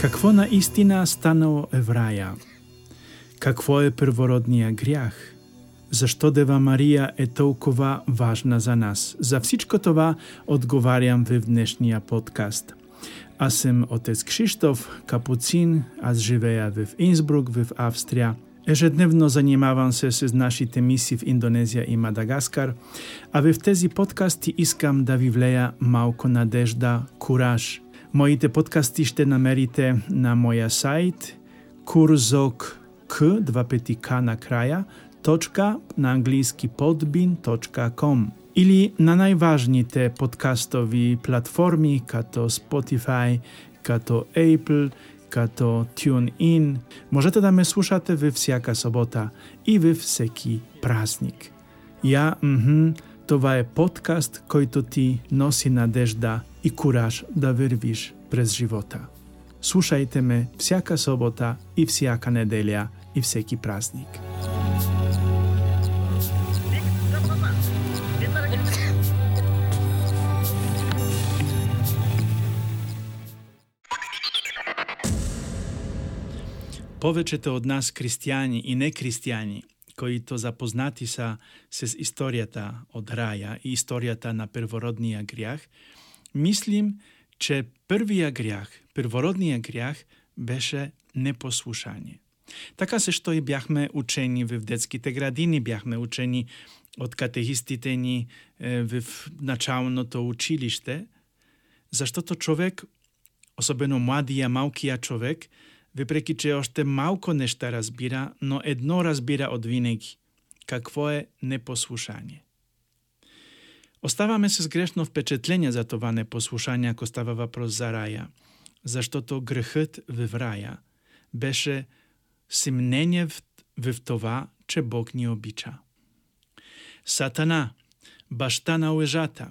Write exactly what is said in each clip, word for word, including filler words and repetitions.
Какво наистина станало е в рая? Какво е первородния грях? Защо Дева Мария е толкова важна за нас? За всичко това отговарям в днешния подкаст. Аз съм отец Кшиштоф, капуцин, аз живея в Инсбрук, в Австрия. Ежедневно занимавам се с нашите мисии в Индонезия и Мадагаскар, а в тези подкасти искам да ви влея малко надежда, кураж. Моите подкасти ще намерите на моя сайт kurzok, k, два пъти К накрая, точка, на английски podbean точка com или на най-важните подкастови платформи, като Spotify, като Apple, като TuneIn. Можете да ме слушате във всяка събота и във всеки празник. Я, мхм, това е подкаст, който ти носи надежда и кураж да вървиш през живота. Слушайте ме всяка събота и всяка неделя и всеки празник. Повечето от нас християни и нехристияни, които запознати са с историята от рая и историята на первородния грях, мислим, че първия грях, первородния грях, беше непослушание. Така също и бяхме учени в детските градини, бяхме учени от катехистите ни в началното училище, защото човек, особено младия, малкия човек, въпреки че още малко неща разбира, но едно разбира от винаги. Какво е непослушание? Оставаме с грешно впечатление за това непослушание, ако става въпрос за рая, защото грехът в рая беше съмнение в, в това, че Бог ни обича. Сатана, баща на лъжата,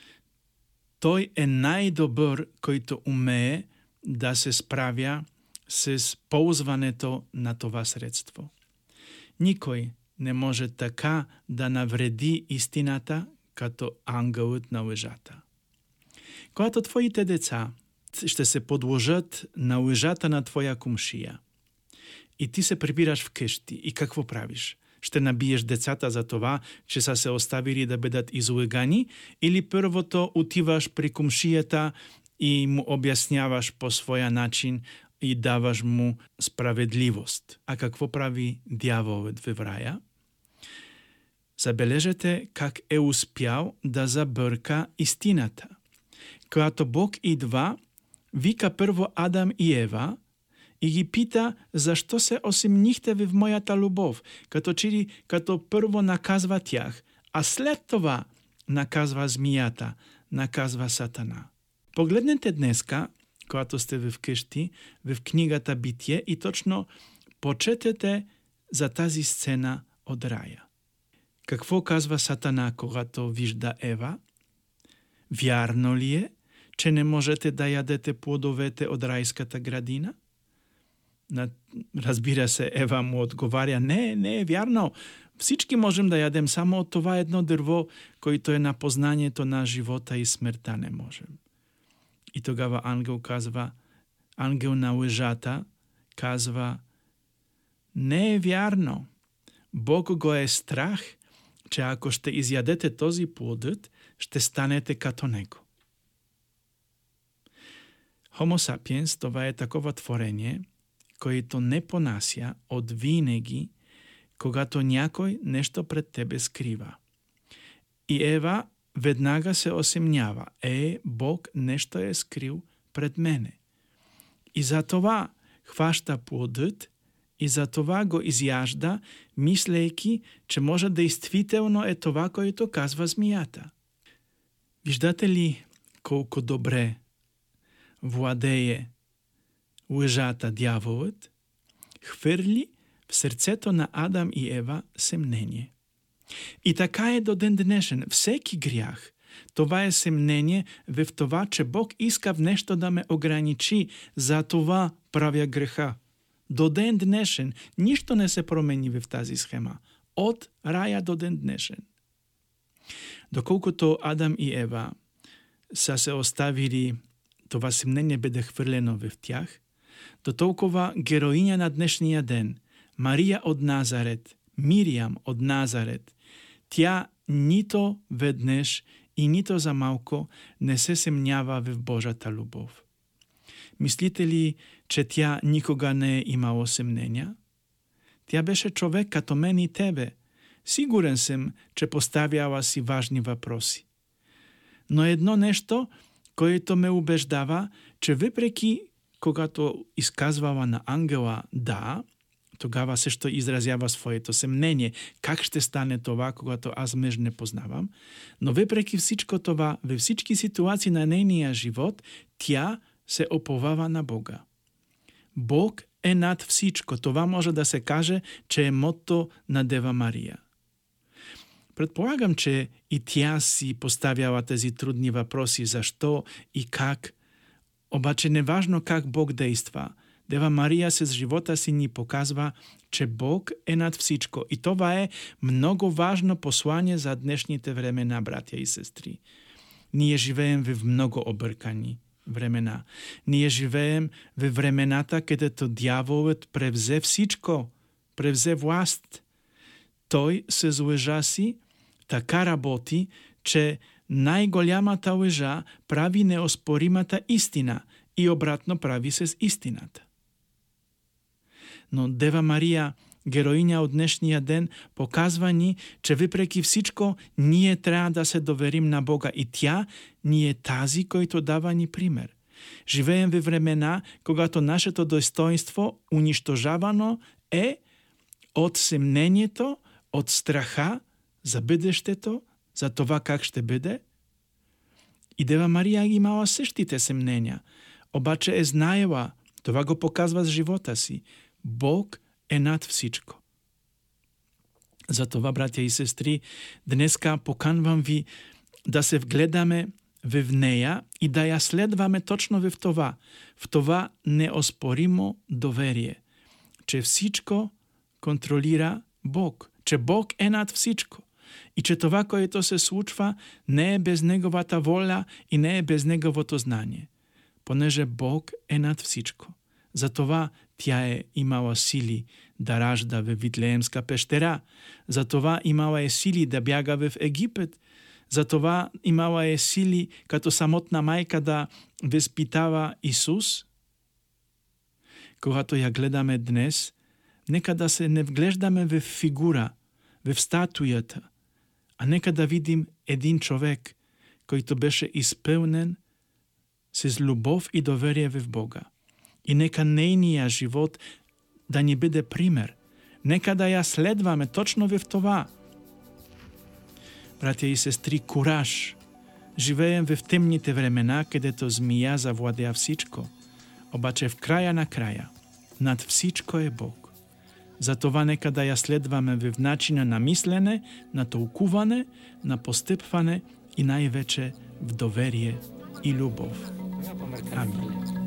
той е най-добър, който умее да се справя с ползването на това средство. Никой не може така да навреди истината, като ангелът на лъжата. Когато твоите деца ще се подложат на лъжата на твоя комшия и ти се прибираш вкъщи, и какво правиш? Ще набиеш децата за това, че са се оставили да бъдат излъгани, или първото отиваш при комшията и му обясняваш по своя начин и даваш му справедливост. А какво прави дяволът в рая? Забележете как е успял да забърка истината. Когато Бог идва, вика първо Адам и Ева и ги пита, защо се осъмнихте в моята любов, като че ли като първо наказва тях, а след това наказва змията, наказва Сатана. Погледнете днеска, когато сте в къщи, в книгата Битие и точно почетете за тази сцена от рая. Какво казва Сатана, когато вижда Ева? Вярно ли е, че не можете да ядете плодовете от райската градина? Разбира се, Ева му отговаря, не, не е вярно. Всички можем да ядем, само от това едно дърво, което е на познанието на живота и смъртта, не можем. И тогава ангел казва, ангел на лъжата казва, не е вярно. Бог го е страх, че ако ще изядете този плодът, ще станете като него. Homo sapiens, това е такова творение, което не понася от винаги, когато някой нещо пред тебе скрива. И Ева веднага се осъмнява. Е, Бог нещо е скрил пред мене. И за това хваща плодът и за това го изяжда, мислейки, че може действително е това, което казва змията. Виждате ли колко добре владее лъжата дяволът? Хвърли в сърцето на Адам и Ева съмнение. И така е до ден днешен. Всеки грях, това е съмнение в това, че Бог иска в нещо да ме ограничи. За това правя греха. До ден днешен нищо не се промени в тази схема. От рая до ден днешен. Доколкото Адам и Ева са се оставили, това съмнение бъде хвърлено в тях, До толкова героиня на днешния ден, Мария от Назарет, Мириам от Назарет, тя нито веднъж и нито за малко не се съмнява в Божата любов. Мислите ли, че тя никога не е имала съмнения? Тя беше човек като мен и тебе. Сигурен съм, че поставяла си важни въпроси. Но едно нещо, което ме убеждава, че въпреки когато изказвала на ангела да, тогава също изразява своето съмнение. Как ще стане това, когато аз мъж не познавам? Но въпреки всичко това, във всички ситуации на нейния живот, тя се оповава на Бога. Бог е над всичко. Това може да се каже, че е мото на Дева Мария. Предполагам, че и тя си поставяла тези трудни въпроси, защо и как. Обаче неважно как Бог действа, Дева Мария с живота си ни показва, че Бог е над всичко. И това е много важно послание за днешните времена, братя и сестри. Ние живеем в много объркани времена. Ние живеем в времената, където дяволът превзе всичко, превзе власт. Той с лъжа си така работи, че най-голямата лъжа прави неоспоримата истина и обратно прави с истината. Но Дева Мария, героиня от днешния ден, показва ни, че въпреки всичко ние трябва да се доверим на Бога и тя ни е тази, който дава ни пример. Живеем във времена, когато нашето достоинство унищожавано е от съмнението, от страха за бъдещето, за това как ще бъде. И Дева Мария имала същите съмнения, обаче е знаела, това го показва с живота си. Бог е над всичко. Затова, братя и сестри, днеска поканвам ви да се вгледаме в нея и да я следваме точно в това, в това неоспоримо доверие, че всичко контролира Бог, че Бог е над всичко и че това, което се случва, не е без Неговата воля и не е без Неговото знание, понеже Бог е над всичко. Затова тя е имала сили да ражда в Витлеемска пещера, затова имала е сили да бяга в Египет, затова имала е сили като самотна майка да възпитава Исус. Когато я гледаме днес, нека да се не вглеждаме в фигура, в статуята, а нека да видим един човек, който беше изпълнен с любов и доверие в Бога. И нека нейния живот да ни бъде пример. Нека да я следваме точно в това. Братя и сестри, кураж. Живеем в темните времена, където змия завладя всичко. Обаче в края на края, над всичко е Бог. Затова нека да я следваме в начина на мислене, на тълкуване, на постъпване и най-вече в доверие и любов. Амин.